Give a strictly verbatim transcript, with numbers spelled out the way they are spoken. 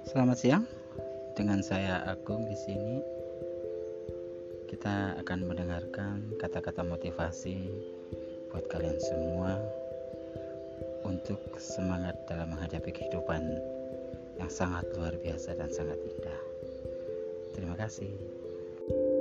Selamat siang, dengan saya Agung di sini. Kita akan mendengarkan kata-kata motivasi buat kalian semua untuk semangat dalam menghadapi kehidupan yang sangat luar biasa dan sangat indah. Terima kasih.